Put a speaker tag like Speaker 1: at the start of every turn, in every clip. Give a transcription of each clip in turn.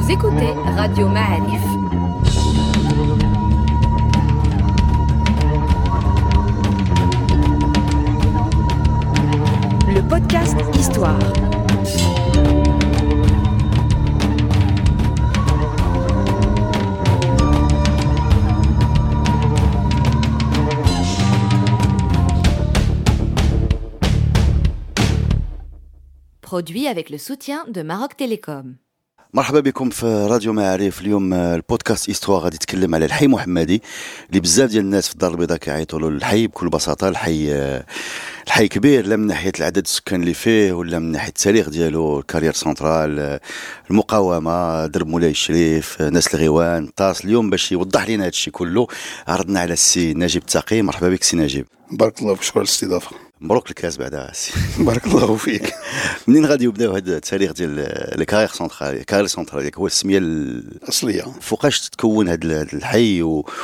Speaker 1: Vous écoutez Radio Ma'arif. Le podcast Histoire. Produit avec le soutien de Maroc Télécom.
Speaker 2: مرحبا بكم في راديو معارف. اليوم البودكاست إستوا غادي يتكلم على الحي محمدي اللي بزاف ديال الناس في الدار البيضاء كيعيطوا له الحي بكل بساطه. الحي كبير، لا من ناحيه العدد السكان اللي فيه ولا من ناحيه التاريخ ديالو، الكارير سنترال، المقاومه، درب مولاي الشريف، ناس الغيوان، طاس. اليوم باش يوضح لنا هذا الشيء كله عرضنا على السي نجيب التقي. مرحبا بك سي نجيب.
Speaker 3: بارك الله فيك، شكرا على الاستضافه.
Speaker 2: مبروك الكاس بعدا سي.
Speaker 3: بارك الله فيك.
Speaker 2: منين غادي يبداو هذا التاريخ ديال الكارير سنترال هو السميه
Speaker 3: الاصليه؟
Speaker 2: فوقاش تكون هذا الحي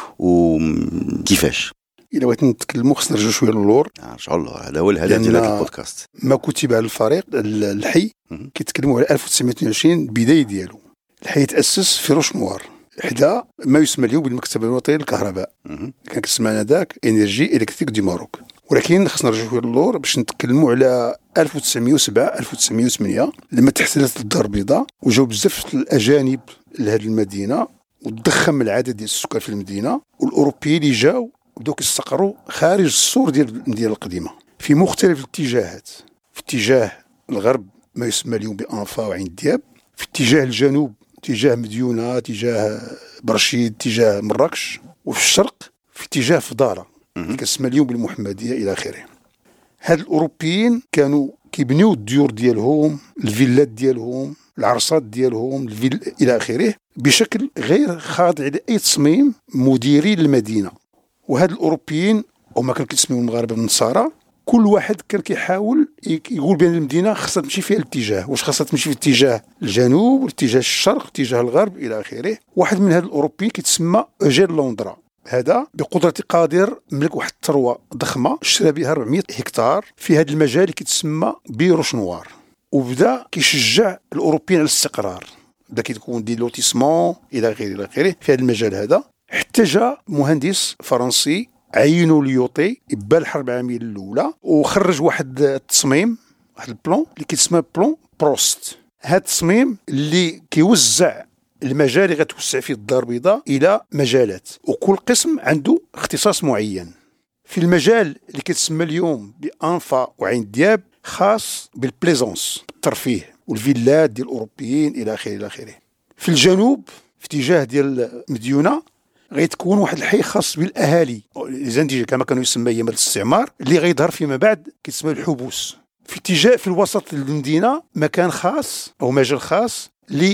Speaker 2: وكيفاش؟
Speaker 3: الا بغيت نتكلموا خصنا نرجعوا شويه للور.
Speaker 2: نرجعوا له، هذا هو الهدف ديال هذا البودكاست.
Speaker 3: ما كتب على الفريق الحي كيتكلموا على 1922 البدايه ديالو. الحي تاسس في روش نوار حدا ما يسمى اليوم بالمكتب الوطني للكهرباء، كان كيسمى هذاك انرجي الكتريك دي ماروك. ولكن خصنا نرجعوا شويه للور باش نتكلموا على 1907 1908 لما تحسنت الدار البيضاء وجاو بزاف الاجانب لهذه المدينه وتضخم العدد ديال السكان في المدينه، والاوروبيين اللي جاو بداو كيستقروا خارج السور ديال المدينه القديمه في مختلف الاتجاهات. في اتجاه الغرب ما يسمى اليوم بانفا وعين دياب، في اتجاه الجنوب اتجاه مديونه، اتجاه برشيد، اتجاه مراكش، وفي الشرق في اتجاه فضاره كتسمى اليوم بالمحمديه الى اخره. هاد الاوروبيين كانوا كيبنيو الديور ديالهم، الفيلات ديالهم، العرصات ديالهم، الى اخره بشكل غير خاضع لاي تصميم مديري للمدينه. وهاد الاوروبيين هما كانوا كيسميو المغاربه النصارى، كل واحد كان كيحاول يقول بان المدينه خاصها تمشي في الاتجاه، واش خاصها تمشي في اتجاه الجنوب ولا اتجاه الشرق اتجاه الغرب الى اخره. واحد من هاد الاوروبيين كيتسمى اوجين لوندرا، هذا بقدرة قادر ملك واحد الثروة ضخمة اشترى بها 400 هكتار في هذا المجال اللي كيتسمى بيروش نوار، وبدا كيشجع الاوروبيين على الاستقرار، بدا كيكون دي لوتيسمون الى غيره في هذا المجال هذا. حتى جاء مهندس فرنسي عينوا ليوطي يبان الحرب العالميه الاولى وخرج واحد التصميم، واحد البلون اللي كيتسمى بلون بروست. هذا التصميم اللي كيوزع المجال اللي غتوسع فيه الدار البيضاء الى مجالات، وكل قسم عنده اختصاص معين. في المجال اللي كيتسمى اليوم بانفا وعين دياب خاص بالبليزونس، الترفيه والفيلات ديال الاوروبيين الى اخره الى اخره. في الجنوب في اتجاه ديال مديونه غيتكون واحد الحي خاص بالاهالي ليزانديجي كما كانوا يسمى ايام الاستعمار، اللي غيظهر فيما بعد كيتسمى الحبوس. في اتجاه في الوسط المدينه مكان خاص او مجال خاص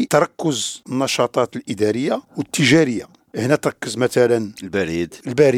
Speaker 3: لتركز النشاطات الاداريه والتجاريه. هنا تركز مثلا البريد،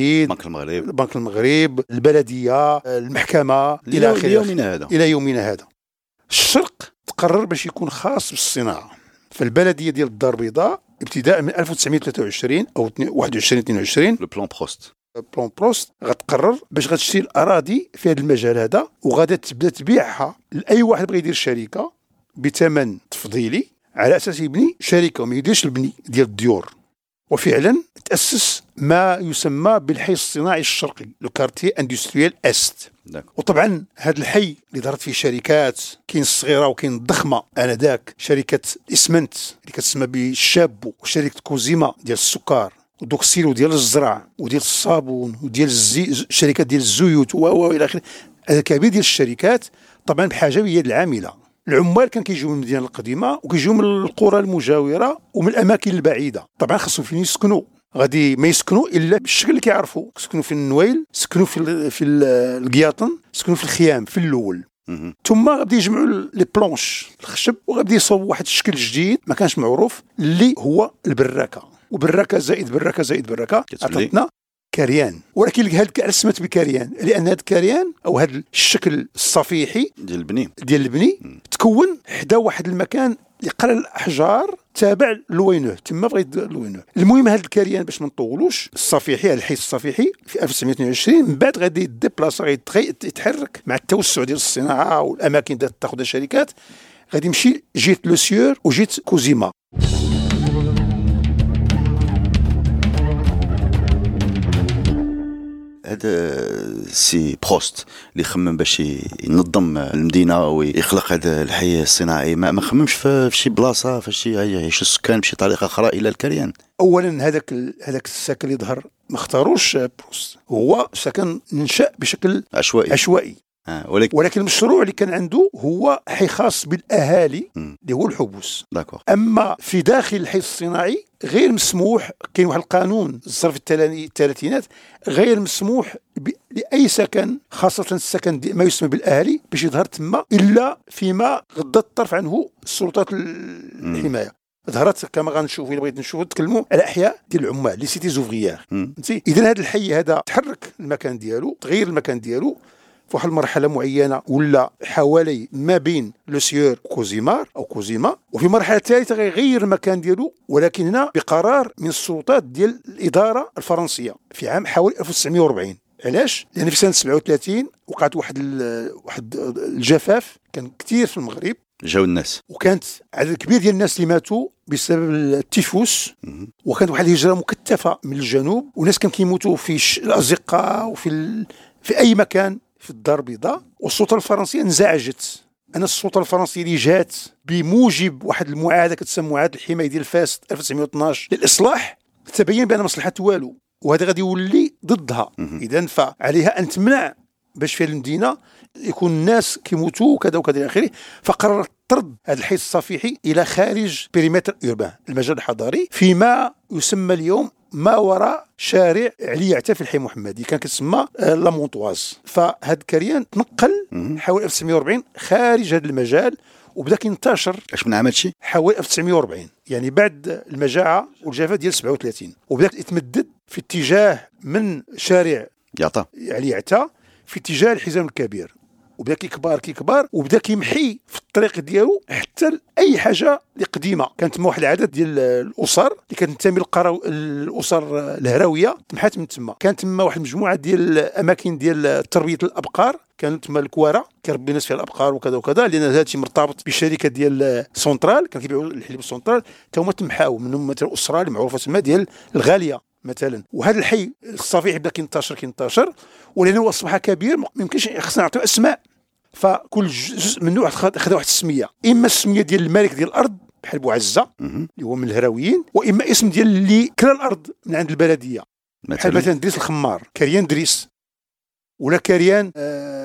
Speaker 3: بنك المغرب، البلديه، المحكمه الى اخره الى يومنا هذا. الشرق تقرر باش يكون خاص بالصناعه، فالبلديه ديال الدار البيضاء ابتداء من 1923 او 21 22
Speaker 2: بلون
Speaker 3: بروست غتقرر باش غتشري الاراضي في هذا المجال هذا، وغادا تبدا تبيعها لاي واحد بغى يدير شركه بثمن تفضيلي على اساس يبني شركه وما يديرش البني ديال الديور. وفعلا تاسس ما يسمى بالحي الصناعي الشرقي، لو كارتي اندستريال است. وطبعا هذا الحي اللي ظهرت فيه شركات، كاين الصغيره وكاين الضخمه انذاك، شركه اسمنت اللي كتسمى بالشابو، وشركه كوزيما ديال السكر، ودوكسيلو ديال الزرع وديال الصابون وديال شركات ديال الزيوت الى اخره. هذا كبير ديال الشركات طبعا بحاجه هي العامله. العمال كان كيجيو من المدينه القديمه وكيجيو من القرى المجاوره ومن الاماكن البعيده. طبعا خاصهم فين يسكنوا، غادي ما يسكنوا الا بالشكل اللي كيعرفوا، يسكنوا في النويل، يسكنوا في القياطن، يسكنوا في الخيام في الاول. ثم غادي يجمعوا لي بلونش الخشب وغادي يصوبوا واحد الشكل جديد ما كانش معروف اللي هو البراكه. وبراكه زائد براكه زائد براكه عطاتنا كريان. ولكن هذا السمت بكريان لان هذا الكريان او هذا الشكل الصفيحي ديال البني تكون حدا واحد المكان يقرا الاحجار تابع لوينوه، تما بغيت لوينوه. المهم هذا الكريان باش ما نطولوش الصفيحي، هذا الحي الصفيحي في 1922 من بعد غادي يديبلاصا، يتحرك مع التوسع ديال الصناعه والاماكن تاخذ الشركات، غادي يمشي جهه لو سيور وجهه كوزيما.
Speaker 2: هذا سي بروست اللي خمم باش ينظم المدينه ويخلق هذا الحي الصناعي، ما خممش في شي بلاصه فاش يعيش السكان بشي طريقه اخرى الى الكريان؟
Speaker 3: اولا هذاك السكن اللي ظهر ما اختاروش بروست، هو سكن نشأ بشكل عشوائي. ولكن المشروع اللي كان عنده هو حي خاص بالاهالي اللي هو الحبوس. اما في داخل الحي الصناعي غير مسموح، كاين واحد القانون صار في الثلاثينات غير مسموح لاي سكن، خاصه السكن ما يسمى بالاهالي، باش يظهر تما الا فيما غض الطرف عنه السلطات الحمايه. ظهرت كما غنشوفوا، الا بغيت نشوفوا نتكلموا على احياء ديال العمال لي سيتي زوفريير. اذا هذا الحي هذا تحرك المكان ديالو، تغير المكان ديالو في واحد المرحله معينه، ولا حوالي ما بين لو سيور كوزيمار او كوزيما، وفي مرحله ثالثه غيغير المكان ديالو، ولكن هنا بقرار من السلطات ديال الاداره الفرنسيه في عام حوالي 1940. علاش؟ لان في سنه 37 وقعت واحد الجفاف كان كثير في المغرب،
Speaker 2: جاو الناس، وكانت
Speaker 3: عدد كبير ديال الناس اللي ماتوا بسبب التيفوس، وكانت واحد الهجره مكثفه من الجنوب، وناس كانوا كيموتوا في الازقه وفي اي مكان في الدار البيضاء. والسلطه الفرنسيه انزعجت. انا السلطه الفرنسيه اللي جات بموجب واحد المعاهده كتسمى معاهده الحمايه ديال فاس 1912 للاصلاح، تبين بان مصلحه والو، وهذا غادي يولي ضدها. اذا فعليها ان تمنع باش في المدينه يكون الناس كيموتوا وكذا وكذا الى اخره. فقررت طرد هذا الحي الصفيحي الى خارج بيريمتر اوربان، المجال الحضاري، فيما يسمى اليوم ما وراء شارع علي عتا في الحي المحمدي، كان كتسمى لا مونطواز. فهذا الكريان تنقل حوالي 1940 خارج هذا المجال، وبدا كينتشر.
Speaker 2: اش من عام هادشي؟
Speaker 3: حوالي 1940، يعني بعد المجاعه والجفاف ديال 37، وبدا يتمدد في اتجاه من شارع علي عتا في اتجاه الحزام الكبير، وبدا كيكبر وبدا كيمحي في الطريق ديالو حتى اي حاجه اللي قديمه. كانت تما واحد العدد ديال الاسر اللي كتنتمي الاسر الهراويه تمحات من تما. كانت تما واحد المجموعه ديال الاماكن ديال تربيه الابقار، كانت تما الكواره كيربي الناس فيها الابقار وكذا وكذا، لان هذا الشيء مرتبط بشركه ديال سونترال، كانوا كيبيعوا الحليب السونترال، تا هما تمحاو منهم مثلا الاسره اللي معروفه تما ديال الغاليه مثلا. وهذا الحي الصفيحي بدا كينتشر، ولانه اصبح كبير ما يمكنش خصنا نعطيو اسماء، فكل جزء منه خذ واحد السميه، اما السميه ديال الملك ديال الارض بحال بوعزه اللي هو من الهراويين، واما اسم ديال اللي كلا الارض من عند البلديه، بحال مثلا دريس الخمار، كريان دريس، ولا كريان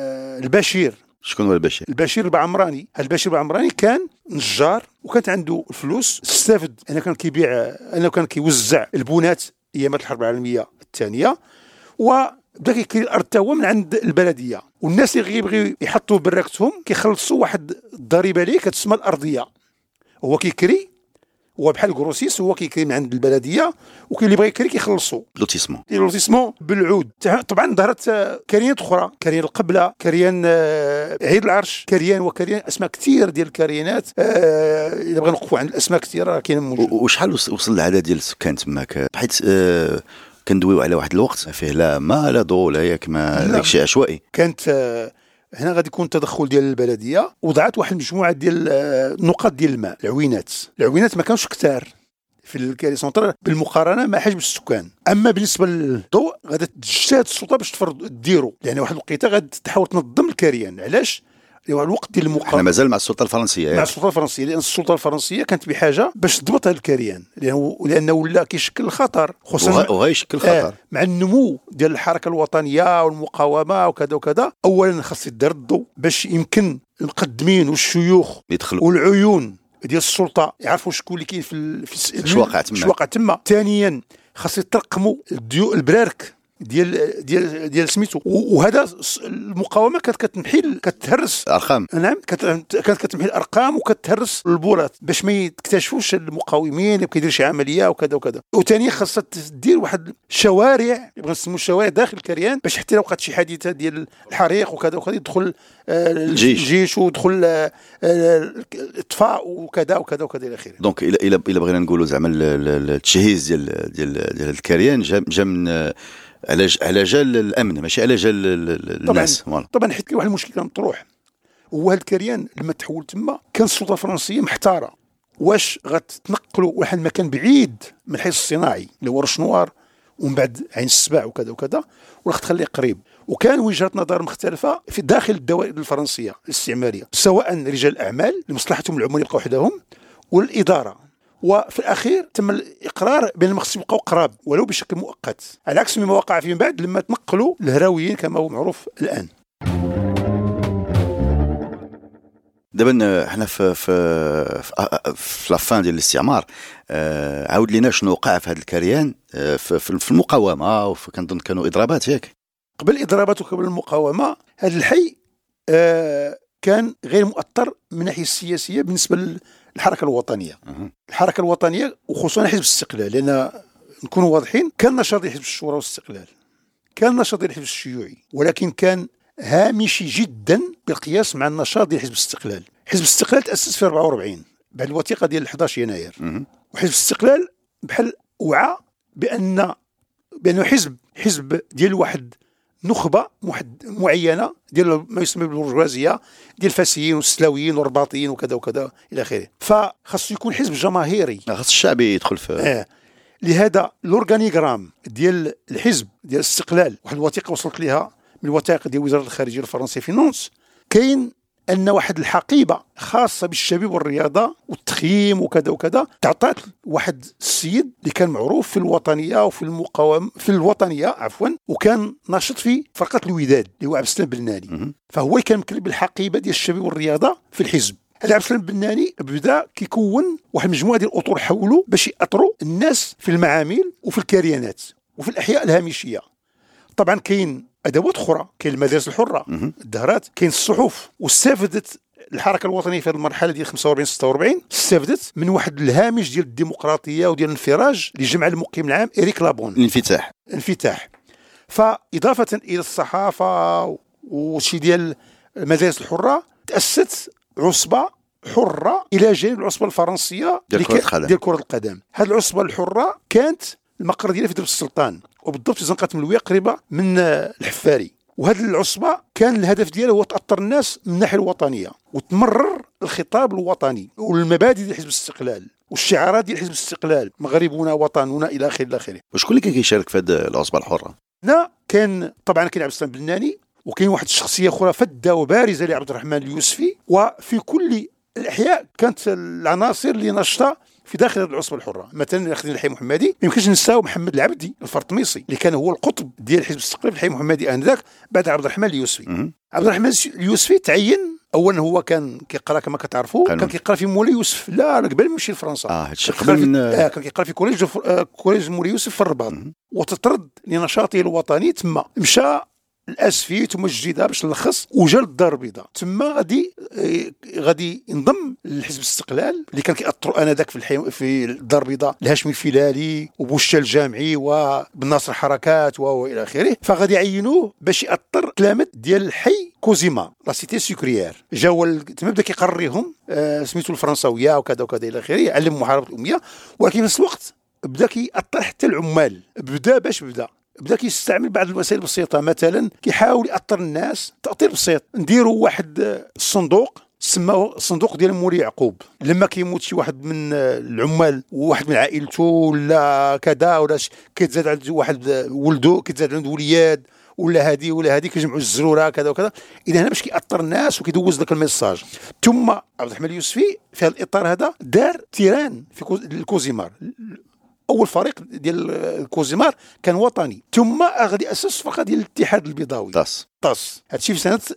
Speaker 3: البشير.
Speaker 2: شكون هو البشير؟
Speaker 3: البشير البعمراني. هذا البشير البعمراني كان نجار، وكانت عنده الفلوس، استفد انه كان كيبيع، انه كان كيوزع البنات ايامات الحرب العالميه الثانيه، وبدا كيكري الارض تا هو من عند البلديه. والناس اللي يبغيو يحطوا براكتهم كيخلصوا واحد الضريبه ليه كتسمى الارضيه، هو كيكري، هو بحال الكروسيس، هو كيكري من عند البلديه، وكاين اللي بغى يكري كيخلصوا لوتيسمون بالعود. طبعا ظهرت كريانات اخرى، كريان القبله، كريان عيد العرش، كريان وكريان، اسماء كثير ديال الكريانات. الا بغينا نوقفوا عند الاسماء كثيره كاينه موجوده.
Speaker 2: وشحال وصل العدد ديال السكان تماك؟ حيت كندويو على واحد الوقت فيه لا ما لا ضوء لا ياك ما داكشي عشوائي.
Speaker 3: كانت هنا غادي يكون تدخل ديال البلديه، وضعت واحد المجموعه ديال النقاط ديال الماء، العوينات ما كانوش كثار في الكاري سونترال بالمقارنه مع حجم السكان. اما بالنسبه للضوء غادي تجتهد السلطه باش ديرو، يعني واحد الوقيته غادي تحاول تنظم الكريان. علاش؟ الوقت ديال المقاومه
Speaker 2: احنا مازال مع السلطه الفرنسيه،
Speaker 3: مع السلطه الفرنسيه، لان السلطه الفرنسيه كانت بحاجه باش تضبط هذا الكريان، لانه ولا كيشكل خطر، خصوصا
Speaker 2: وغيشكل خطر
Speaker 3: مع النمو ديال الحركه الوطنيه والمقاومه وكذا وكذا. اولا خاص يدار الضوء باش يمكن المقدمين والشيوخ
Speaker 2: يدخلوا،
Speaker 3: والعيون ديال السلطه يعرفوا شكون اللي كاين في الواقع تما. ثانيا خاص يترقموا البرارك ديال سميتو. وهذا المقاومه كانت كتهرس
Speaker 2: ارقام.
Speaker 3: نعم، كانت كتمحي الارقام وكتهرس البورات باش ما يكتشفوش المقاومين، وكيدير شي عمليه وكذا وكذا. وثانيا خاصها تدير واحد الشوارع، يبغى نسموا الشوارع داخل الكريان، باش حتى لو وقعت شي حادثه ديال الحريق وكذا وكذا يدخل الجيش ودخل الاطفاء وكذا وكذا وكذا الى اخره.
Speaker 2: دونك الا بغينا نقولوا زعما التجهيز ديال الكريان جا من على جال الامن، ماشي على جال الناس.
Speaker 3: طبعا حيت كاين واحد المشكل كان مطروح، هو هذا الكريان لما تحول تما كان السلطه الفرنسيه محتاره واش غتنقلوا واحد المكان بعيد من الحيز الصناعي اللي هو رشنوار ومن بعد عين السبع وكذا وكذا، ولا تخليه قريب. وكان وجهات نظر مختلفه في داخل الدوائر الفرنسيه الاستعماريه، سواء رجال الاعمال لمصلحتهم العموميه يبقوا وحدهم، والاداره. وفي الاخير تم الاقرار بان المخصص يبقوا قراب ولو بشكل مؤقت، على عكس مما وقع فيما بعد لما تنقلوا الهراويين كما هو معروف الان.
Speaker 2: دابا حنا في لافان ديال الاستعمار، عاود لينا شنو وقع في هذا الكريان في المقاومه، وكنظن كانوا اضرابات ياك.
Speaker 3: قبل الاضرابات وقبل المقاومه هذا الحي كان غير مؤثر من الناحيه السياسيه بالنسبه للحركه الوطنيه. الحركه الوطنيه وخصوصا حزب الاستقلال، لان نكونوا واضحين كان نشاط حزب الشورى والاستقلال، كان نشاط الحزب الشيوعي، ولكن كان هامشي جدا بالقياس مع النشاط ديال حزب الاستقلال. حزب الاستقلال تأسس في 44 بعد الوثيقة ديال 11 يناير. وحزب الاستقلال بحال وعى بأنه حزب ديال واحد نخبة معينة ديال ما يسمى بالبرجوازية ديال الفاسيين والسلاويين والرباطيين وكذا وكذا إلى آخره. فخاصو يكون حزب جماهيري،
Speaker 2: خاص الشعب يدخل في
Speaker 3: لهذا الأورغانيغرام ديال الحزب ديال الاستقلال، واحد الوثيقة وصلت لها من الوثائق ديال وزارة الخارجية الفرنسية في نونس، كاين أن واحد الحقيبة خاصة بالشباب والرياضة والتخييم وكذا وكذا تعطات واحد السيد اللي كان معروف في الوطنية وفي المقاومة في الوطنية وكان ناشط في فرقة الوداد اللي هو عبد السلام بناني. فهو كان مكلب بالحقيبة ديال الشباب والرياضة في الحزب. هذا عبد السلام بناني بدا كيكون واحد المجموعة ديال الأطر حوله باش يأطروا الناس في المعامل وفي الكريانات وفي الأحياء الهامشية. طبعا كاين ادوات اخرى، كاين المدارس الحره، الدهرات، كاين الصحف. واستفدت الحركه الوطنيه في هذه المرحله ديال 45 46 استفدت من واحد الهامش ديال الديمقراطيه وديال الانفراج اللي جمع المقيم العام إريك لابون، الانفتاح. فاضافه الى الصحافه وشي ديال المدارس الحره تاسست عصبه حره الى جانب العصبه الفرنسيه ديال كره القدم. هذه العصبه الحره كانت المقر ديالها في درب السلطان، وبالضبط في زنقة ملوية قريبة من الحفاري. وهذه العصبة كان الهدف ديالها هو تأثر الناس من الناحية الوطنية وتمرر الخطاب الوطني والمبادئ ديال حزب الاستقلال والشعارات ديال حزب الاستقلال، مغربنا وطننا إلى آخره إلى آخره.
Speaker 2: وشكون اللي كان كيشارك في هذه العصبة الحرة؟
Speaker 3: لا كان طبعا كاين عبد السلام بناني، وكاين واحد الشخصية أخرى فدة وبارزة لعبد الرحمن اليوسفي. وفي كل الأحياء كانت العناصر اللي نشطة في داخل العصبة الحرة. مثلا اخذنا الحي المحمدي، ما يمكنش ننساو محمد العبدي الفرطميسي اللي كان هو القطب ديال حزب الاستقلال في الحي المحمدي انذاك بعد عبد الرحمن اليوسفي. عبد الرحمن اليوسفي تعين اولا، هو كان كيقرا كما كتعرفوا، كان كيقرا في مولاي يوسف لا قبل ما يمشي لفرنسا.
Speaker 2: هادشي قبل من
Speaker 3: كان كيقرا في كوليج مولاي يوسف في الرباط. وتطرد لنشاطه الوطني تما مشى الاسفي ثم الجديده باش نلخص، وجا للدار البيضاء. تما غادي ينضم لحزب الاستقلال اللي كان كيأثروا انذاك في الدار البيضاء الهاشمي الفيلالي وبوشة الجامعي وبن ناصر حركات والى اخره. فغادي يعينوه باش يأثر تلامذ ديال الحي كوزيما لا سيتي سكريير. جاوا تما بدا كيقريهم سميتو الفرنساويه وكذا وكذا الى اخره، علم محاربه الاميه. ولكن في نفس الوقت بدا كيأثر حتى العمال. بدا كيستعمل بعض الوسائل البسيطه، مثلا كيحاول يأثر الناس تأثير بسيط. نديروا واحد الصندوق سماه الصندوق ديال مولاي يعقوب، لما كيموت شي واحد من العمال وواحد من عائلته ولا كذا ولا كيتزاد عند واحد ولده، كيتزاد عنده ولياد ولا هذه كيجمعوا الزروره كذا وكذا. اذا هنا باش كيأثر الناس وكيدوز ذاك الميساج. ثم عبد الرحمن اليوسفي في هذا الاطار هذا دار تيران في الكوزيمار. اول فريق ديال الكوزيمار كان وطني، ثم غادي اسس فرقه ديال الاتحاد البيضاوي طاس. هادشي في سنه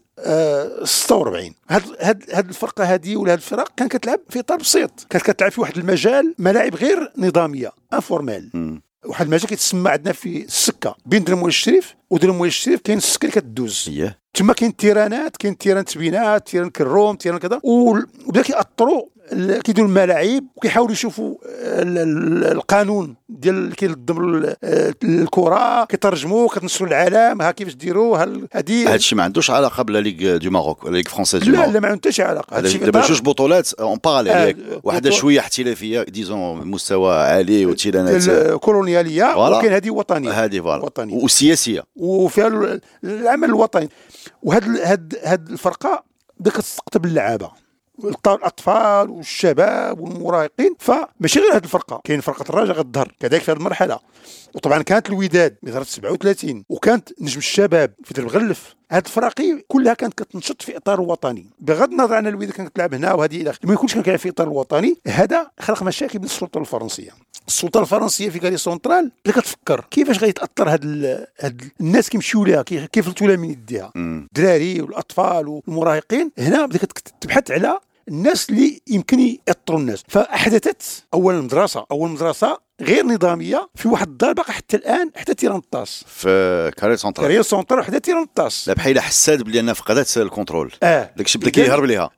Speaker 3: 46. هاد الفرقه هذه ولا هاد الفرق كانت كتلعب في اطار بسيط، كانت كتلعب في واحد المجال ملاعب غير نظاميه انفورمال. واحد المجال كيتسمى عندنا في السكه بين درهم الشريف ودرهم الشريف، كاين السكه اللي كتدوز تما، كاين التيرانات، كاين تيران تبينات، تيران كروم، تيران كذا. وبدا كيأطروا كيديروا الملاعب وكيحاولوا يشوفوا القانون ديال كينظم الكره، كيترجموا، كتنشروا العالم ها كيفاش ديروا. هذا الشيء
Speaker 2: ما عندوش علاقه بلا ليغ دو ماروك ولا ليغ فرونسيز دو
Speaker 3: ماروك. لا ما عندهاش علاقه.
Speaker 2: هادشي دابا جوج بطولات اون باراليل، واحده شويه احترافيه ديزون مستوى عالي وتيرانات
Speaker 3: كولونياليه، وكاين هذه وطنيه،
Speaker 2: هذه وطنيه وسياسيه وفيها
Speaker 3: العمل الوطني. وهاد الفرقه بدات كتستقطب اللعابه الاطفال والشباب والمراهقين. فماشي غير هذه الفرقه، كاين فرقه الرجاء غتظهر كذلك في هذه المرحله. وطبعا كانت الوداد اللي ظهرت 37، وكانت نجم الشباب في درب غلف. هاد الفراقي كلها كانت كتنشط في اطار وطني، بغض النظر عن الوداد كانت تلعب هنا وهذه الى اخره، ما يكونش كان كيلعب في اطار الوطني. هذا خلق مشاكل بين السلطه الفرنسيه. السلطه الفرنسيه في كاري سونترال بدات كتفكر كيفاش غيتاثر هاد الناس كيمشيو ليها، كيف التولا من يديها، الدراري والاطفال والمراهقين. هنا بدات تبحث على الناس اللي يمكن يأثروا الناس. فاحدثت اول مدرسه غير نظاميه في واحد الدار باقي حتى الان، حتى تيرانطاس
Speaker 2: في كاري سونترال
Speaker 3: حتى تيرانطاس.
Speaker 2: لا بحال حساد بلي انها فقدت الكونترول. داك الشيء بدا كيهرب ليها.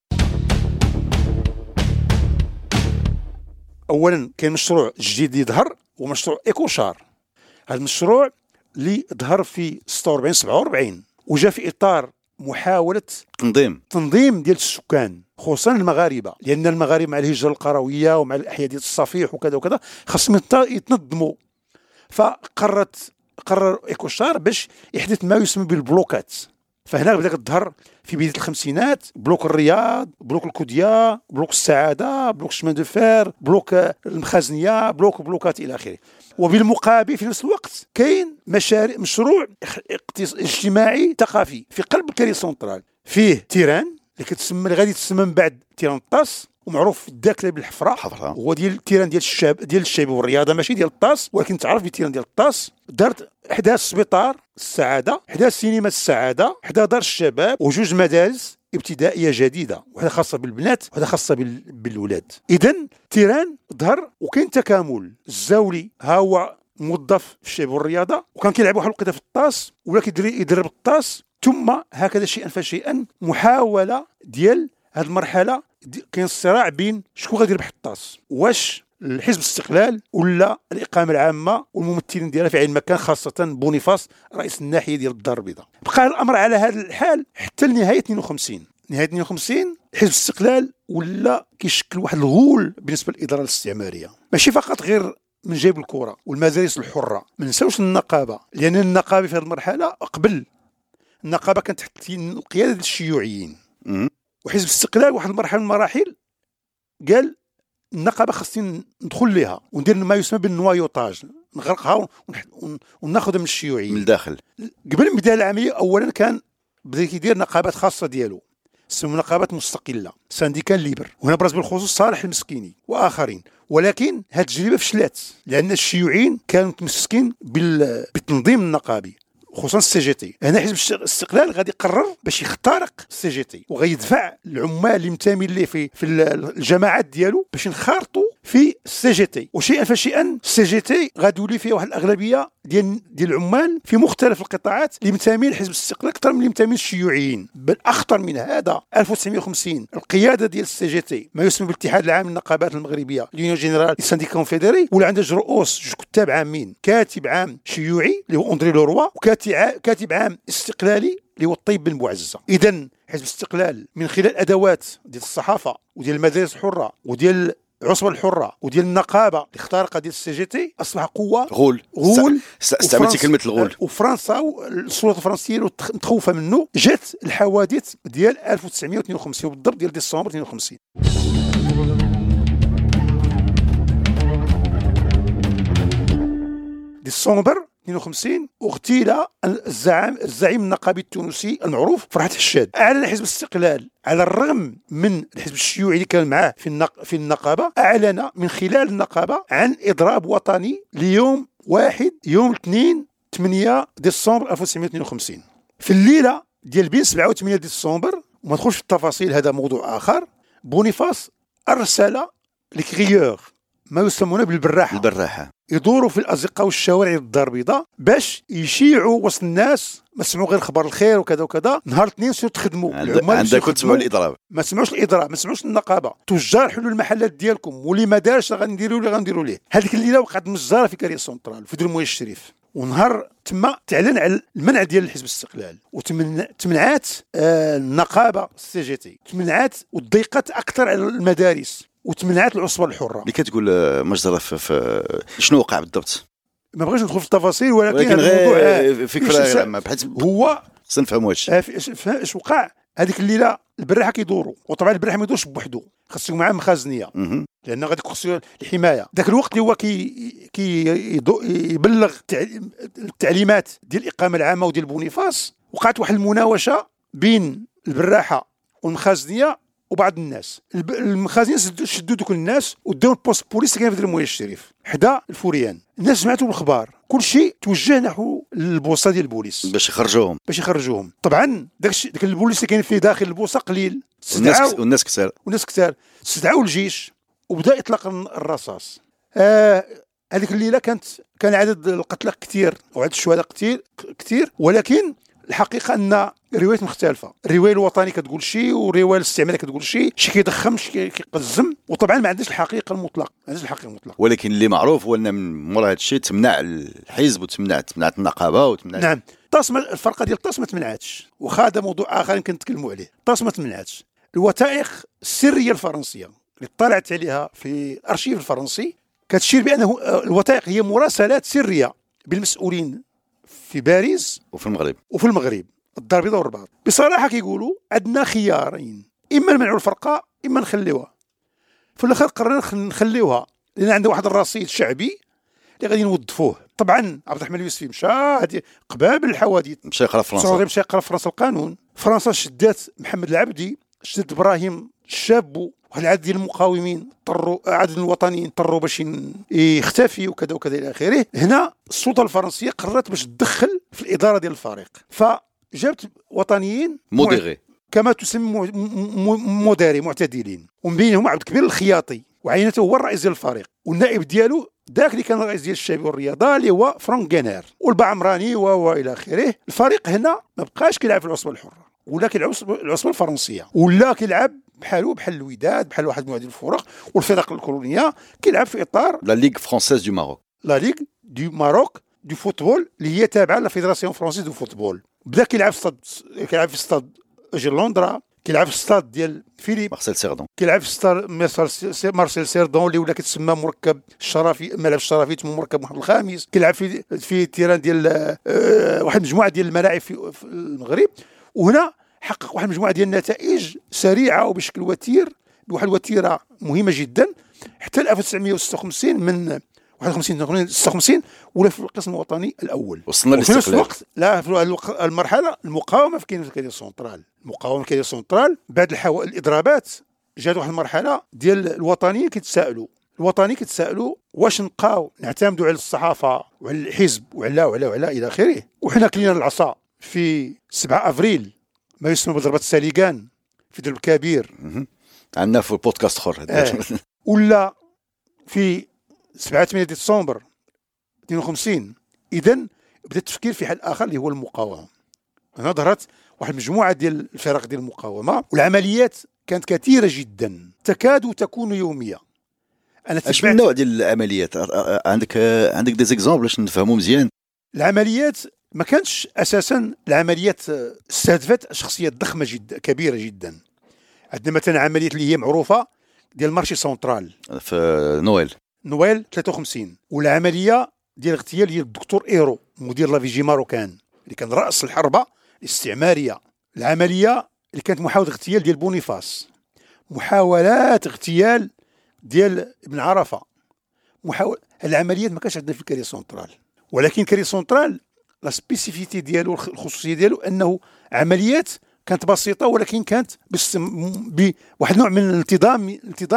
Speaker 3: اولا كاين مشروع جديد اللي ظهر، ومشروع ايكوشار. هذا المشروع اللي ظهر في 46 47 وجاء في اطار محاوله تنظيم ديال السكان، خصوصا المغاربه، لان المغاربه مع الهجره القرويه ومع الاحياء ديال الصفيح وكذا وكذا خاصهم يتنظموا. قرر ايكوشار باش يحدث ما يسمى بالبلوكات. فهنا بدات تظهر في بدايه الخمسينات بلوك الرياض، بلوك الكوديا، بلوك السعاده، بلوك الشمان دو فير، بلوك المخازنيه، بلوكات الى اخره. وبالمقابل في نفس الوقت كاين مشروع اجتماعي ثقافي في قلب كاري سونترال، فيه تيران اللي غادي تسمى من بعد تيرانطاس، ومعروف في الداخله بالحفره. هو ديال التيران ديال الشباب والرياضه، ماشي ديال الطاس، ولكن تعرف بالتيران ديال الطاس. دارت حدا سبيطار السعاده، حدا سينما السعاده، حدا دار الشباب، وجوج مدارس ابتدائيه جديده، واحده خاصه بالبنات وواحده خاصه بالولاد. اذا تيران ظهر وكاين تكامل. الزاولي ها هو موظف في الشباب والرياضه، وكان كيلعب واحد الوقيته في الطاس ولا يدرب الطاس. ثم هكذا شيئا فشيئا محاوله ديال هذه المرحله. كاين الصراع بين شكون غادي يربح الطاس، واش الحزب الاستقلال ولا الاقامه العامه والممثلين ديالها في عين مكان، خاصه بونيفاس رئيس الناحيه ديال الدار البيضاء. بقى الامر على هذا الحال حتى لنهايه 52. نهايه 52 حزب الاستقلال ولا كيشكل واحد الغول بالنسبه للاداره الاستعماريه، ماشي فقط غير من جيب الكره والمدارس الحره. ما نساوش النقابه، لان النقابه في هذه المرحله قبل النقابه كانت تحت القياده ديال الشيوعيين. وحزب الاستقلال واحد المرحله من المراحل قال النقابه خاصني ندخل لها وندير ما يسمى بالنوايوطاج، نغرقها وناخذها من الشيوعيين
Speaker 2: من الداخل.
Speaker 3: قبل ما يبدا العمليه اولا كان بدا كيدير نقابات خاصه ديالو، سموا نقابات مستقله، سانديكال ليبر، وهنا برز بالخصوص صالح المسكيني واخرين. ولكن هذه التجربه فشلت، لان الشيوعيين كانوا متمسكين بالتنظيم النقابي، خصوصا السي جي تي. هنا حزب الاستقلال غادي يقرر باش يخترق السي جي تي، وغيدفع العمال اللي منتمين ليه في الجماعات ديالو باش ينخرطوا في السي جي تي. وشيئا فشيئا السي جي تي غادي يولي فيه واحد الاغلبيه ديال العمال في مختلف القطاعات اللي منتمين لحزب الاستقلال اكثر من اللي منتمين للشيوعيين. بل اخطر من هذا 1950 القياده ديال السي جي تي، ما يسمى بالاتحاد العام للنقابات المغربيه، ليونيون جينيرال دي سانديكا كونفيدري، ولا عنده جوج رؤوس، جوج كتاب عامين، كاتب عام شيوعي اللي هو اندري لوروا، كاتب عام استقلالي اللي هو الطيب بن بوعزه. اذا حزب الاستقلال من خلال ادوات ديال الصحافه وديال المدارس الحره وديال العصبه الحره وديال النقابه اللي اخترقها ديال السي جي تي اصبح قوه غول.
Speaker 2: استعملتي كلمه الغول.
Speaker 3: وفرنسا والسلطات الفرنسيه متخوفه منه. جات الحوادث ديال 1952 بالضبط ديال ديسمبر 52. ديسمبر 52 اغتيل الزعيم النقابي التونسي المعروف فرحات حشاد. اعلن حزب الاستقلال على الرغم من الحزب الشيوعي اللي كان معاه في النقابه، اعلن من خلال النقابه عن اضراب وطني ليوم يوم 8 ديسمبر 1952. في الليله ديال بين 7 و 8 ديسمبر، وما ندخلش في التفاصيل هذا موضوع اخر، بونيفاس ارسل لكريور ما يسمونه بالبراحه يدوروا في الازقه والشوارع الدار البيضاء باش يشيعوا وسط الناس، ما سمعوا غير خبر الخير وكذا وكذا. نهار الاثنين سيروا تخدموا،
Speaker 2: عندكم تسمعوا الاضراب،
Speaker 3: ما سمعوش الاضراب، ما سمعوش النقابه. تجار حلوا المحلات ديالكم، واللي ما دارش غنديروا ليه. هذيك الليله وقعت مجزره في كاري سونترال في درمويه الشريف، ونهار تما تعلن على المنع ديال الحزب الاستقلال، وتمنعات النقابه السي جي تي، تمنعات وضيقت اكثر على المدارس، وتمنعات العصبه الحره.
Speaker 2: اللي كتقول مجزره في شنو وقع بالضبط؟
Speaker 3: ما بغيتش ندخل في التفاصيل، ولكن
Speaker 2: غير فكره بحيث
Speaker 3: هو
Speaker 2: خصنا نفهموا واش
Speaker 3: اش وقع. هذيك الليله البراحه كيدوروا، وطبعا البراحه ما يدورش بوحدو، خاصو معاه مخازنيه لان غادي خصو الحمايه. ذاك الوقت اللي هو يبلغ التعليمات ديال الاقامه العامه وديال بونيفاس، وقعت واحد المناوشه بين البراحه والمخازنيه وبعض الناس. المخازنين شدوا دوك الناس وداو البوست بوليس اللي كان في المويه الشريف حدا الفوريان. الناس سمعتوا الاخبار، كل شيء توجه نحو البوسطه ديال البوليس
Speaker 2: باش يخرجوهم.
Speaker 3: طبعا داك البوليس اللي كاين فيه داخل البوسطه قليل،
Speaker 2: والناس كثار
Speaker 3: استدعوا الجيش وبدا اطلاق الرصاص. هذيك الليله كان عدد القتلى كثير وعدد الشهداء كثير، ولكن الحقيقه ان الروايات مختلفه. الروايه الوطنيه كتقول شيء، والروايه الاستعماريه كتقول شيء كيضخم شي كيقزم، وطبعا ما عندناش الحقيقه المطلقه.
Speaker 2: ولكن اللي معروف هو ان من مورا هذا الشيء تمنع الحزب وتمنعت النقابه وتمنع.
Speaker 3: نعم، الفرقه ديال الطاس ما تمنعتش، وخا هذا موضوع اخر يمكن نتكلموا عليه. الطاس ما تمنعتش. الوثائق السريه الفرنسيه اللي طلعت عليها في الارشيف الفرنسي كتشير بانه الوثائق هي مراسلات سريه بالمسؤولين في باريس وفي المغرب الدار البيضاء والرباط. بصراحه كيقولوا عندنا خيارين، اما نمنعوا الفرقه اما نخليوها. في الاخر قررنا نخليوها لان عندنا واحد الرصيد شعبي اللي غادي نوظفوه. طبعا عبد الرحمن اليوسفي مشى قبابل الحوادث، مشى يقرا فرنسا القانون. فرنسا شدات محمد العبدي، شدات ابراهيم الشاب، واحد العدد ديال المقاومين عدد الوطنيين اضطروا باش يختفي وكذا وكذا الى اخره. هنا السلطه الفرنسيه قررت باش تدخل في الاداره ديال الفريق، فجابت وطنيين
Speaker 2: موديري
Speaker 3: كما تسمى موديري معتدلين، ومن بينهم عبد الكبير الخياطي، وعينته هو الرئيس ديال الفريق، والنائب ديالو ذاك اللي كان الرئيس ديال الشعب والرياضه اللي هو فرانك غينير، والبعمراني والى اخره. الفريق هنا ما بقاش كيلعب في العصبه الحره، ولا كيلعب العصبه الفرنسيه، ولا كيلعب بحال الوداد، بحال واحد المجموعه ديال الفرق والفرق الكولونيه، كيلعب في اطار
Speaker 2: لا ليغ فرونسيز دو ماروك،
Speaker 3: لا ليغ دو ماروك دو فوتبول اللي هي تابعه لا فيدراسيون فرونسيز دو فوتبول. بدا كيلعب في استاد لندرا، كيلعب في استاد ديال فيليب
Speaker 2: مارسيل سيردون،
Speaker 3: كيلعب في استاد مارسيل سيردون اللي ولا كتسمى مركب الشرفي، ملعب الشرفي تم مركب محمد الخامس. كيلعب في التيران ديال واحد المجموعه ديال الملاعب في المغرب. وهنا حقق واحد المجموعه ديال النتائج سريعه وبشكل وتير، بواحد الوتيره مهمه جدا، حتى 1956 من 56 ولا في القسم الوطني الاول.
Speaker 2: وصلنا
Speaker 3: للاستقلال. وفي نفس الوقت لا في المرحله المقاومه في كاين سنترال بعد الاضرابات جات واحد المرحله ديال الوطنيين كيتسائلوا واش نبقاو نعتمدوا على الصحافه وعلى الحزب وعلى الى اخره، وحنا كلينا العصا في 7 افريل ما يسمى بضربه الساليغان في درب كبير،
Speaker 2: عندنا في البودكاست اخر
Speaker 3: ولا في 7 ديسمبر 52. اذا بدا التفكير في حل اخر اللي هو المقاومه. هنا ظهرت واحد المجموعه ديال الفرق ديال المقاومه، والعمليات كانت كثيره جدا تكاد تكون يوميه.
Speaker 2: اش من نوع ديال العمليات عندك دي زيكزامبل باش نفهموا مزيان؟
Speaker 3: العمليات ما كانتش اساسا العمليات استهدفت شخصيات ضخمه جدا كبيره جدا. عندنا مثلا عمليات اللي هي معروفه ديال مارشي سنترال
Speaker 2: في نويل
Speaker 3: 53، والعمليه ديال اغتيال ديال الدكتور ايرو مدير لافيجي ماروكان اللي كان راس الحربه الاستعماريه. العمليه اللي كانت محاوله اغتيال ديال بونيفاس، محاولات اغتيال ديال ابن عرفه، العمليات ما كانش عندنا في كاري سنترال. ولكن كاري سنترال لا سبيسيفيتي ديالو الخصوصيه ديالو انه عمليات كانت بسيطه، ولكن كانت بواحد نوع من الانتظام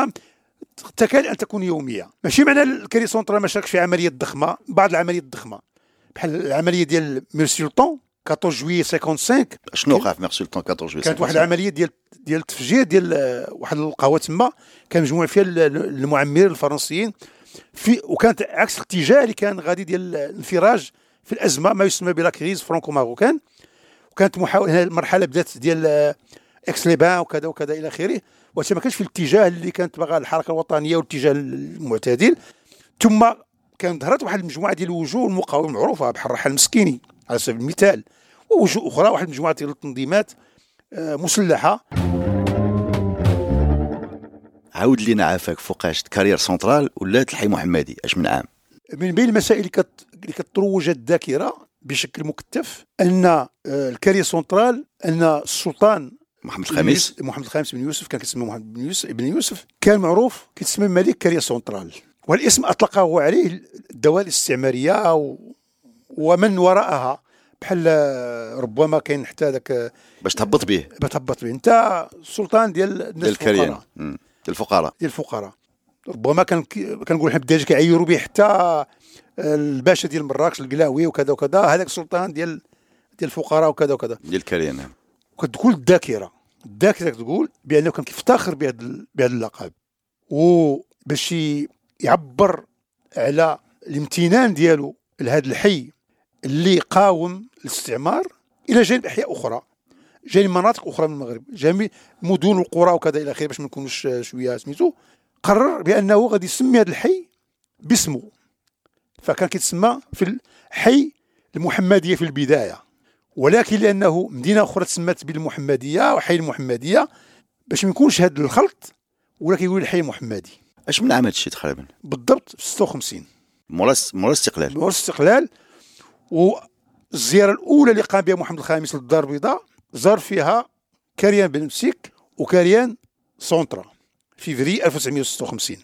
Speaker 3: تكاد ان تكون يوميه. ماشي معنى الكاري سنترال ما شاركش في عمليات ضخمه، بعض العمليات الضخمه بحال العمليه ديال ميرسولطون 14 جويي 55.
Speaker 2: شنو وقع في ميرسولطون 14 جويي؟
Speaker 3: كانت واحد العمليه ديال التفجير ديال واحد القهوه تما، كان مجموع فيها المعمرين الفرنسيين وكانت عكس الاتجاه اللي كان غادي ديال الانفراج في الازمه ما يسمى بلا كريز فرانكو ماروكان. وكانت محاوله، المرحله بدات ديال اكس ليبان وكذا وكذا الى اخره، واش ما كانش في الاتجاه اللي كانت باغا الحركه الوطنيه والاتجاه المعتدل. ثم كانت ظهرت واحد المجموعه ديال الوجوه المقاومه المعروفه بحال الرحال المسكيني على سبيل المثال، ووجوه اخرى، واحد المجموعه ديال التنظيمات مسلحه.
Speaker 2: عاود لينا عافاك فوقاش كارير سنترال ولات الحي محمدي اش من عام؟
Speaker 3: من بين المسائل اللي كتروج الذاكره بشكل مكثف ان الكارير سنترال، ان السلطان
Speaker 2: محمد الخامس.
Speaker 3: محمد الخامس بن يوسف كان كيتسمى محمد بن يوسف كان معروف كيتسمى ملك كاريا سونترال، والاسم اطلقه عليه الدوائر الاستعماريه ومن وراءها، بحال ربما كاين حتى ذاك
Speaker 2: باش تهبط به
Speaker 3: انت السلطان ديال
Speaker 2: الكريان ديال الفقراء.
Speaker 3: ربما كنقول حنا بالدارجه كيعيروا به حتى الباشا ديال مراكش القلاوي وكذا وكذا، هذاك السلطان ديال الفقراء وكذا وكذا
Speaker 2: ديال الكريان.
Speaker 3: وكتقول الذاكره تقول بانه كان كيفتخر بهذا اللقب، وباش يعبر على الامتنان ديالو لهذا الحي اللي قاوم الاستعمار الى جانب احياء اخرى، جانب مناطق اخرى من المغرب، جانب مدن والقرى وكذا الى اخره، باش ما نكونوش شويه سميتو. قرر بانه غادي يسمي هذا الحي باسمه، فكان كيتسمى في الحي المحمديه في البدايه، ولكن لانه مدينه اخرى تسمات بالمحمديه وحي المحمديه باش ما يكونش هذا الخلط، ولا كيقول الحي المحمدي.
Speaker 2: اش من عام هذا الشيء تقريبا؟
Speaker 3: بالضبط في 56
Speaker 2: مورا الاستقلال. والزياره الاولى اللي قام بها محمد الخامس للدار البيضاء زار فيها كريان بن مسيك وكريان سونترا في فيفري 1956.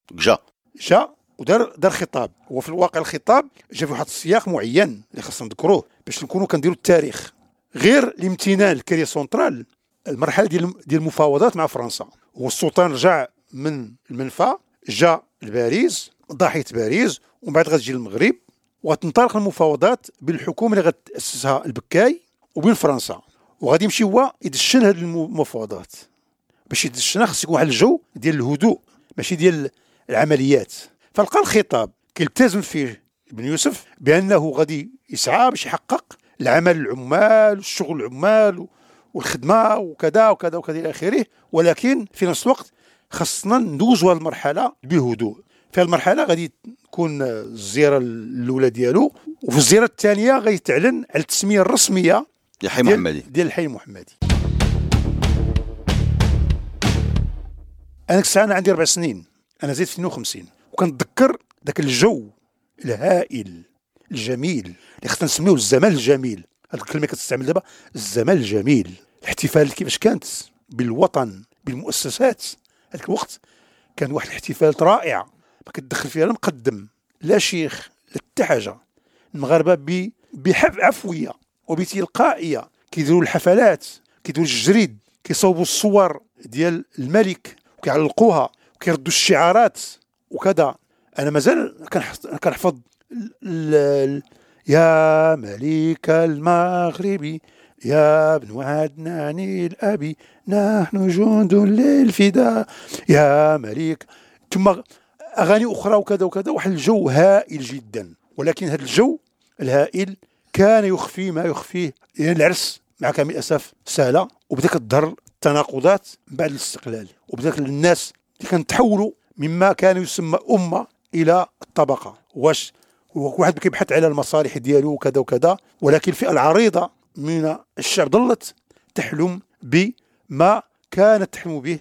Speaker 2: جا ودار خطاب، وفي الواقع الخطاب جا في واحد السياق معين اللي خاصنا نذكروه باش نكونوا كنديروا التاريخ. غير الامتنان لكريا سونترال، المرحله ديال المفاوضات مع فرنسا، والسلطان رجع من المنفى جا لباريس، ضاحيه باريس، ومن بعد غتجي للمغرب، وتنطلق المفاوضات بالحكومه اللي غتاسسها البكاي وبين فرنسا، وغادي يمشي هو يدشن هذه المفاوضات. باش يدشنها خص يكون واحد الجو ديال الهدوء ماشي ديال العمليات. فلقى الخطاب كيلتزم فيه ابن يوسف بانه غادي يسعى باش يحقق العمل العمال والشغل العمال والخدمه وكذا وكذا وكذا الى اخره، ولكن في نفس الوقت خصنا ندوزوا هذه المرحله بهدوء. في هذه المرحله غادي تكون الزياره الاولى ديالو، وفي الزياره الثانيه غادي تعلن على التسميه الرسميه ديال الحي المحمدي. انا الساعه انا عندي 4 سنين، انا زيد في 52، وكنتذكر ذاك الجو الهائل الجميل اللي خصنا نسميوه الزمان الجميل. هذه الكلمه كتستعمل دابا، الزمان الجميل. الاحتفال كيفاش كانت بالوطن بالمؤسسات هذاك الوقت، كان واحد الاحتفالات رائعه ما كتدخل فيها لا مقدم لا شيخ لا حتى حاجه. المغاربه بعفويه وبتلقائيه كيديروا الحفلات، كيديروا الجريد، كيصوبوا الصور ديال الملك وكيعلقوها وكيردوا الشعارات وكذا. انا مازال كنحفظ يا ملك المغرب يا ابن عدنان الأبي نحن جند للفداء يا ملك، ثم أغاني أخرى وكذا وكذا. واحد الجو هائل جدا، ولكن هذا الجو الهائل كان يخفي ما يخفيه، يعني العرس مع كامل الأسف سهلة، وبدأت تظهر التناقضات بعد الاستقلال، وبدأت الناس اللي كانوا تحولوا مما كان يسمى أمة إلى الطبقة. واش واحد كيبحث على المصالح ديالو وكذا وكذا، ولكن الفئة العريضة من الشعب ظلت تحلم بما كانت تحلم به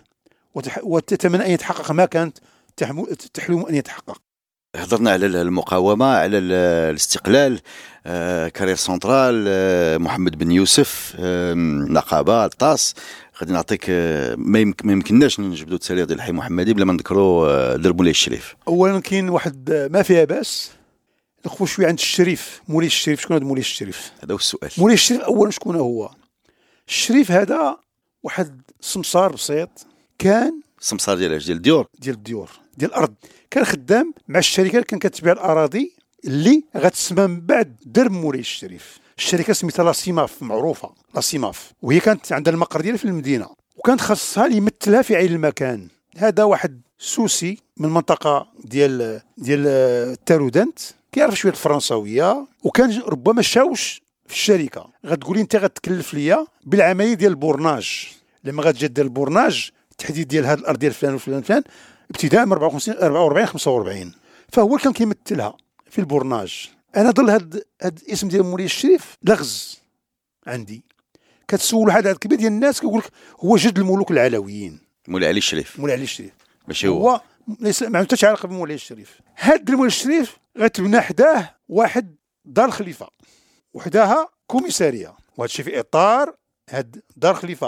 Speaker 2: وتتمنى أن يتحقق ما كانت تحلم أن يتحقق. هضرنا على المقاومة، على الاستقلال، كارير سونترال، محمد بن يوسف، نقابة، الطاس. غادي نعطيك ما يمكنناش نجبدوا التاريخ ديال الحي المحمدي بلا ما نذكروا درب مولاي الشريف.
Speaker 3: اولا كاين واحد ما فيها باس نخفوا شويه عند الشريف. مولاي الشريف شكون هذا مولاي الشريف؟
Speaker 2: هذا هو السؤال.
Speaker 3: مولاي الشريف اولا شكون هو؟ الشريف هذا واحد سمسار بسيط، كان
Speaker 2: سمسار ديال الديور
Speaker 3: ديال الارض، كان خدام مع الشركه اللي كان كتبيع الاراضي اللي غتسمى من بعد درب مولاي الشريف. الشركه سميتها لاسيماف، معروفه لاسيماف، وهي كانت عندها المقر ديالها في المدينه، وكانت خاصها اللي يمثلها في عين المكان. هذا واحد سوسي من المنطقه ديال التارودنت، كيعرف شويه الفرنساويه، وكان ربما شاوش في الشركه. غتقولي انت غتكلف ليا بالعمليه ديال البورناج، لما غتجي دير البورناج التحديد ديال هذه الارض ديال فلان وفلان فلان ابتداء من 54 44 45، فهو كان كيمثلها في البورناج. انا ظل هاد الاسم ديال مولاي الشريف لغز عندي. كتسول واحد العدد كبير ديال الناس كيقول لك هو جد الملوك العلويين،
Speaker 2: مولاي علي الشريف. ماشي
Speaker 3: هو ليس ما عندوش علاقه بمولاي الشريف. هاد مولاي الشريف غتبنى حداه واحد دار الخليفه، وحداها كوميساريه، وهذا الشيء في اطار هاد دار الخليفه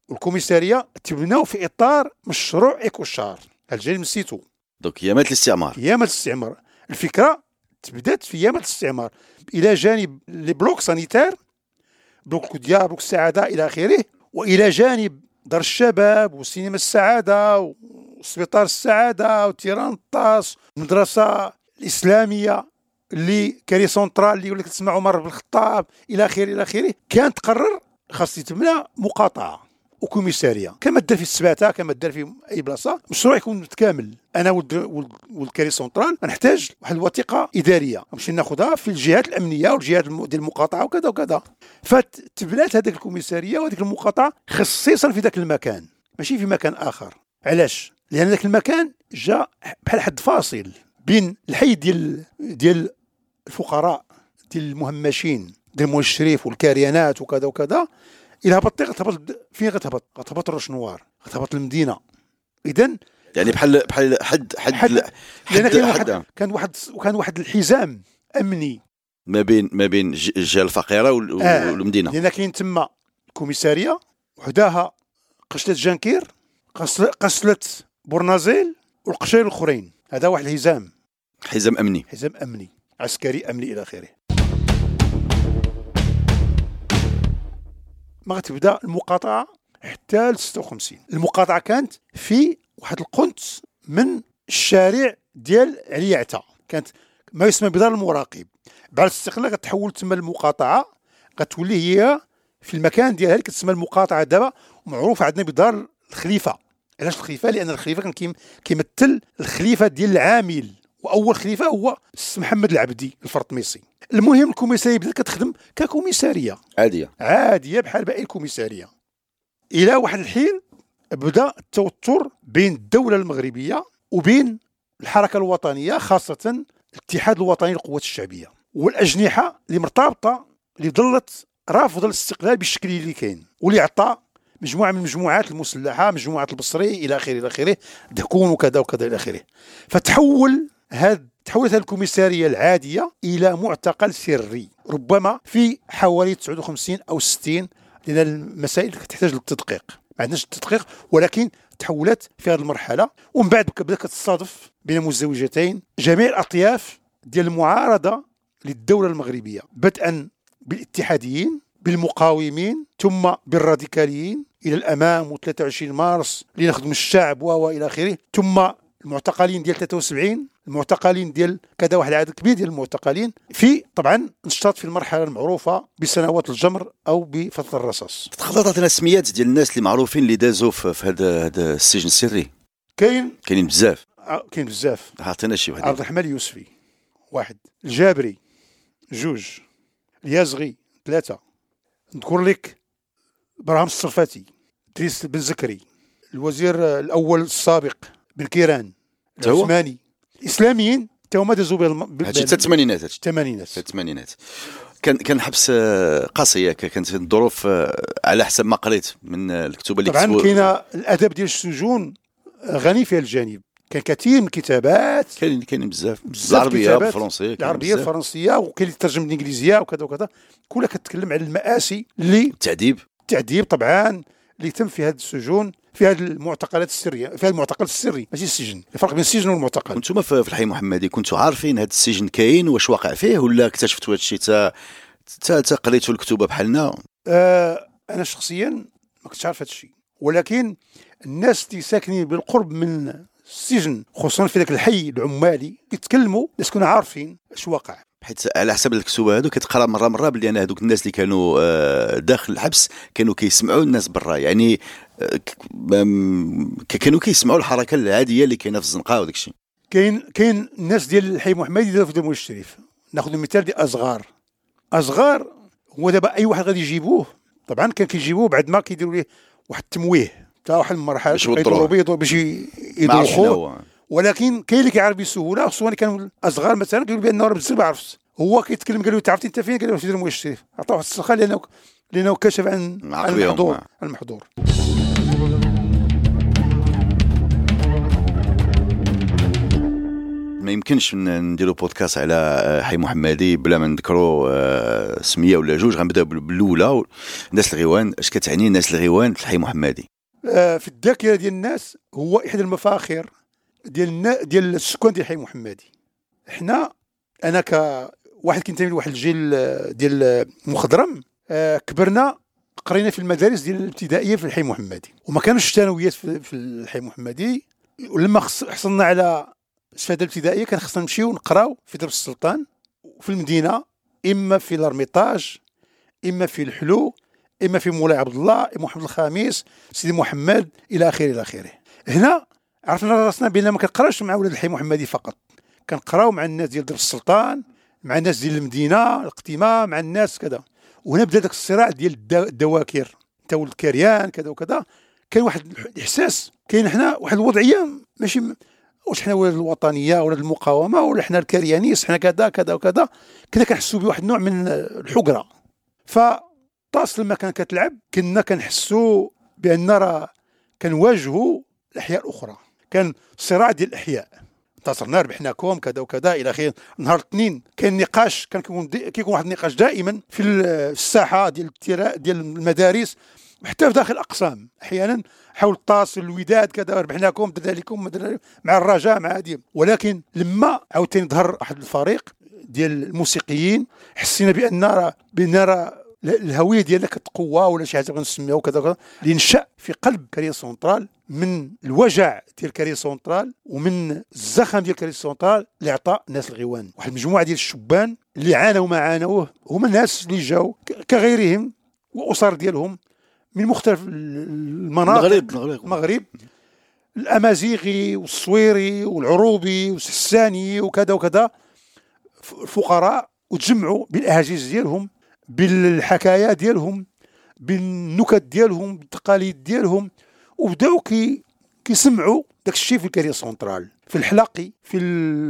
Speaker 3: والكوميساريه تبناو في اطار مشروع ايكوشار الجاي من سيتو.
Speaker 2: دوك ايامات الاستعمار.
Speaker 3: ايامات الاستعمار. الفكره تبدات في ايامات الاستعمار الى جانب لي بلوك سانيتير، بلوك الكوديا، بلوك السعاده الى اخره، والى جانب دار الشباب وسينما السعاده وسبيطار السعاده وتيران الطاس، المدرسه الاسلاميه اللي كاري سونترال اللي ولات تسمع عمر بن الخطاب الى اخره الى اخره. كان تقرر خاص يتبنى مقاطعه وكوميساريه كما دار في السباته، كما دار في اي بلاصه. مشروع يكون متكامل. انا والكاري سونترال نحتاج واحد الوثيقه اداريه نمشي ناخذها في الجهات الامنيه والجهات ديال المقاطعه وكذا وكذا. فتبنات هذيك الكوميساريه وهذيك المقاطعه خصيصا في ذاك المكان ماشي في مكان اخر. علاش؟ لان ذاك المكان جاء بحال حد فاصل بين الحي ديال الفقراء، ديال المهمشين، ديال المول الشريف والكاريانات وكذا وكذا. إلا هبطتي غتهبط فين؟ غتهبط روش نوار، غتهبط المدينه. اذا
Speaker 2: يعني بحال حد
Speaker 3: كان واحد الحزام امني
Speaker 2: ما بين الجهه الفقيره والمدينه.
Speaker 3: لان كاين تما الكوميساريه وحداها قشله جانكير، قشله بورنازيل والقشير الاخرين. هذا واحد الحزام،
Speaker 2: حزام
Speaker 3: امني عسكري امني الى اخره. ما غتبدا المقاطعه حتى ل 56. المقاطعه كانت في واحد القنت من الشارع ديال علي عتا، كانت ما يسمى بدار المراقب. بعد الاستقلال غتحول تما المقاطعه، غتولي هي في المكان ديالها اللي كتسمى المقاطعه دابا، ومعروفه عندنا بدار الخليفه. علاش الخليفه؟ لان الخليفه كان كيمثل الخليفه ديال العامل، واول خليفه هو السي محمد العبدي الفرطميسي. المهم الكوميساريه بدات كتخدم ككوميساريه عاديه بحال باقي الكوميساريه. الى واحد الحين بدا التوتر بين الدوله المغربيه وبين الحركه الوطنيه، خاصه الاتحاد الوطني للقوات الشعبيه والاجنحه اللي مرتبطه، اللي ظلت رافضه الاستقلال بالشكل اللي كاين، واللي عطى مجموعه من المجموعات المسلحه، مجموعه البصري الى اخره الى اخره، دهكون وكذا وكذا الى اخره. تحولت الكوميساريه العاديه الى معتقل سري، ربما في حوالي 59 او 60، لان المسائل تحتاج للتدقيق. ما عندناش التدقيق، ولكن تحولت في هذه المرحله. ومن بعد بدات كتصادف بين مزدوجتين جميع الاطياف ديال المعارضه للدوله المغربيه، بدءا بالاتحاديين، بالمقاومين، ثم بالراديكاليين الى الامام، و23 مارس اللي نخدم الشعب والى اخره، ثم المعتقلين ديال 73، المعتقلين ديال كذا، واحد العدد كبير ديال المعتقلين. في طبعا نشطت في المرحله المعروفه بسنوات الجمر او بفتره الرصاص.
Speaker 2: تقدر تعطينا اسميات ديال الناس اللي معروفين اللي دازوا في هذا السجن السري؟ كاينين بزاف. عطينا شي واحد.
Speaker 3: عبد الرحمن اليوسفي 1، الجابري 2، اليازغي 3، نذكر لك ابراهيم الصرفاتي، ادريس بن زكري، الوزير الاول السابق بن كيران، العثماني. الاسلاميين تا هما دازوا
Speaker 2: هادشي حتى الثمانينات. كان حبس قاسي، كانت الظروف على حسب ما قريت من الكتب اللي
Speaker 3: طبعا كاينه الادب ديال السجون غني في الجانب. كان كثير من الكتابات،
Speaker 2: كاين بزاف العربيه والفرنسيه،
Speaker 3: العربيه الفرنسيه، وكاين اللي ترجم الانجليزيه وكذا وكذا، كلها كتكلم على المآسي اللي التعذيب طبعا اللي تم في هذه السجون، في هذه المعتقلات السريه، في هذا المعتقل السري ماشي السجن. الفرق بين السجن والمعتقل.
Speaker 2: كنتم في الحي محمدي كنتوا عارفين هذا السجن كاين واش واقع فيه، ولا اكتشفتوا هذا الشيء تا قريتوا الكتب بحالنا؟
Speaker 3: انا شخصيا ما كنتش عارف هذا الشيء، ولكن الناس اللي ساكنين بالقرب من السجن، خصوصا في ذاك الحي العمالي، يتكلموا الناس كانوا عارفين اش واقع.
Speaker 2: حيت على حسب الكتب هذو كتقرا مره بلي انا هذوك الناس اللي كانوا داخل الحبس كانوا كيسمعوا الناس برا، يعني كانوا كيسمعوا الحركه العاديه اللي كاينه في الزنقه وداك الشيء.
Speaker 3: كاين الناس ديال الحي محمدي داروا في المول الشريف. ناخذ المثال ديال أصغار هو دابا اي واحد غادي يجيبوه، طبعا كان كيجيبوه بعد ما كيديروا ليه واحد التمويه تاع واحد المرحله باش يدوخوه، ولكن كاين اللي كيعرف بسهوله، خصوصا كانوا الاصغار مثلا كيقول بان راه بزاف ما عرفتش. هو كيتكلم قال له تعرفتي انت فين؟ قال له في المول الشريف. عطاه واحد السلخه لانه كشف عن المحظور.
Speaker 2: ما يمكنش نديروا بودكاست على حي محمدي بلا ما نذكروا سميه ولا جوج. غنبداو بالاولى، الناس الغيوان. اش كتعني الناس الغيوان في الحي محمدي؟
Speaker 3: في الذاكره ديال الناس هو احدى المفاخر ديال السكان ديال الحي محمدي. انا كواحد كينتمي لواحد الجيل ديال مخضرم، كبرنا قرينا في المدارس ديال الابتدائيه في الحي محمدي، وما كانوش الثانويات في الحي محمدي. ولما حصلنا على الشهاده الابتدائيه كان خصنا نمشيو نقراو في درب السلطان وفي المدينه، اما في الارميطاج، اما في الحلو، اما في مولاي عبد الله، اما محمد الخامس، سيدي محمد، الى اخره الى اخره. هنا عرفنا راسنا بان ما كنقراوش مع ولاد الحي محمدي فقط، كنقراو مع الناس ديال درب السلطان، مع الناس ديال المدينه القديمه، مع الناس كذا. وهنا بدا داك الصراع ديال الدواكر، انت ولد كريان كذا وكذا. كاين واحد الاحساس، كاين حنا واحد الوضعيه ماشي واش حنا ولاد الوطنيه ولا المقاومه ولا حنا الكريانيس، حنا كذا كذا وكذا. كنا كنحسوا بواحد النوع من الحقره. فطاس لما كان كتلعب كنا كنحسوا بان راه كنواجهوا الاحياء الاخرى، كان صراع ديال الاحياء، انتصرنا ربحناكم كذا وكذا الى اخره. نهار الاثنين كاين نقاش، كيكون واحد النقاش دائما في الساحه ديال المدارس، حتى في داخل الاقسام احيانا حول الطاس الوداد كذا، ربحناكم درنا لكم مع الرجاء مع هذه. ولكن لما عاوتاني ظهر واحد الفريق ديال الموسيقيين، حسينا بان راه الهويه ديالنا كتقوى ولا شي حاجه غنسميوها كذا كذا، اللي نشا في قلب كارير سونترال من الوجع ديال كارير سونترال ومن الزخم ديال كارير سونترال اللي عطى الناس الغيوان. واحد المجموعه ديال الشبان اللي عانوا ما عانوه، هما الناس اللي جاوا كغيرهم واسر ديالهم من مختلف المناطق، المغرب، الامازيغي والصويري والعروبي والسحساني وكذا وكذا، فقراء، وتجمعوا بالاهاجيز ديالهم، بالحكايا ديالهم، بالنكت ديالهم، بالتقاليد ديالهم، وبداو كيسمعوا داك الشيء في الكارير سونترال، في الحلاقي، في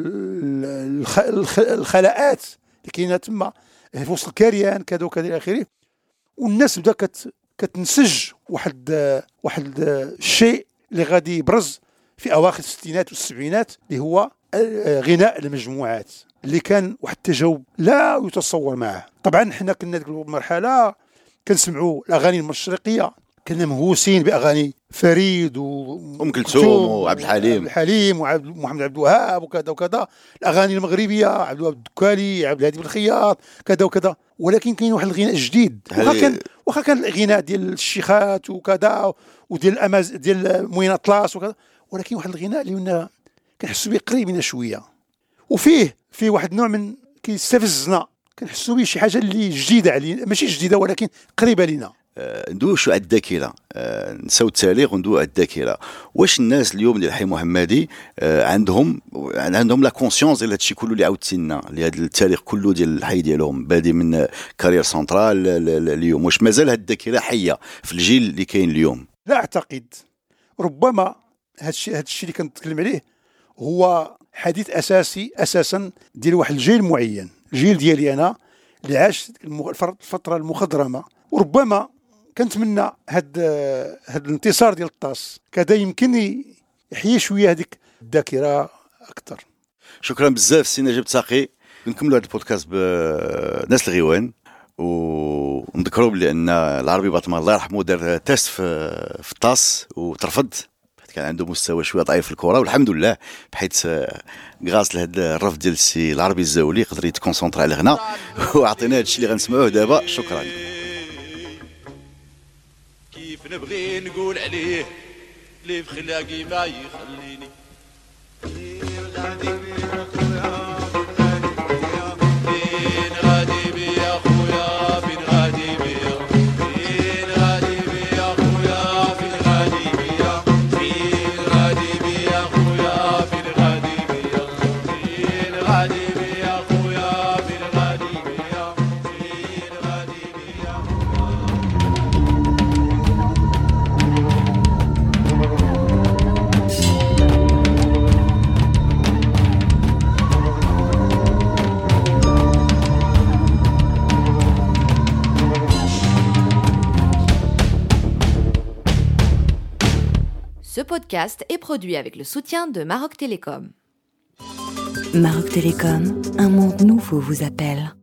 Speaker 3: الخلاءات اللي كاينه تما في وسط الكريان كذا وكذا الى اخره. والناس بدا كتنسج واحد الشيء اللي غادي يبرز في اواخر الستينات والسبعينات، اللي هو غناء المجموعات، اللي كان واحد التجاوب لا يتصور معه. طبعا حنا كنا ديك المرحله كنسمعوا الاغاني المشرقيه، كنا مهووسين باغاني فريد
Speaker 2: وام كلثوم وعبد
Speaker 3: الحليم ومحمد عبد الوهاب وكذا وكذا، الاغاني المغربيه عبد الوهاب الدكالي، عبد الهادي بن الخياط كذا وكذا. ولكن كاين واحد الغناء جديد، واخا كان الغناء ديال الشيخات وكذا وديال ديال موين اطلس وكذا، ولكن واحد الغناء اللي كنحسوا به قريب لنا شويه، وفيه واحد النوع من كيستفزنا، كنحسوا به شي حاجه اللي جديده علينا، ماشي جديده ولكن قريبه لنا.
Speaker 2: ندوشوا على الذاكره، نساو التاريخ وندووا على الذاكره. واش الناس اليوم ديال الحي محمدي عندهم لا كونسيونس ديال هادشي كله اللي عاودتي لنا، اللي هذا التاريخ كله ديال الحي ديالهم بادي من كارير سونترال اليوم؟ واش مازال هاد الذاكره حيه في الجيل اللي كاين اليوم؟
Speaker 3: لا اعتقد. ربما هادشي اللي كنتكلم عليه هو حديث اساسا ديال واحد الجيل معين، الجيل ديالي انا اللي عاش الفتره المخضرمه. وربما كنتمنى هاد الانتصار ديال الطاس كذا يمكن يحيي شويه هذيك الذاكره اكثر.
Speaker 2: شكرا بزاف سي نجيب تساقي. نكملوا هذا البودكاست بناس الغيوان، ونذكروا بلي ان العربي باطمه الله يرحمه دار تيست في الطاس وترفض، كان عنده مستوى شويه ضعيف في الكره، والحمد لله بحيث غاز لهذا الرفض ديال السي العربي الزاولي قدر يتكونسونطرا على الغناء وعطينا هذا الشيء اللي غنسمعوه دابا. شكرا.
Speaker 4: كيف نبغي نقول عليه اللي في خلاقي ما يخليني
Speaker 1: Ce podcast est produit avec le soutien de Maroc Télécom.
Speaker 5: Maroc Télécom, un monde nouveau vous appelle.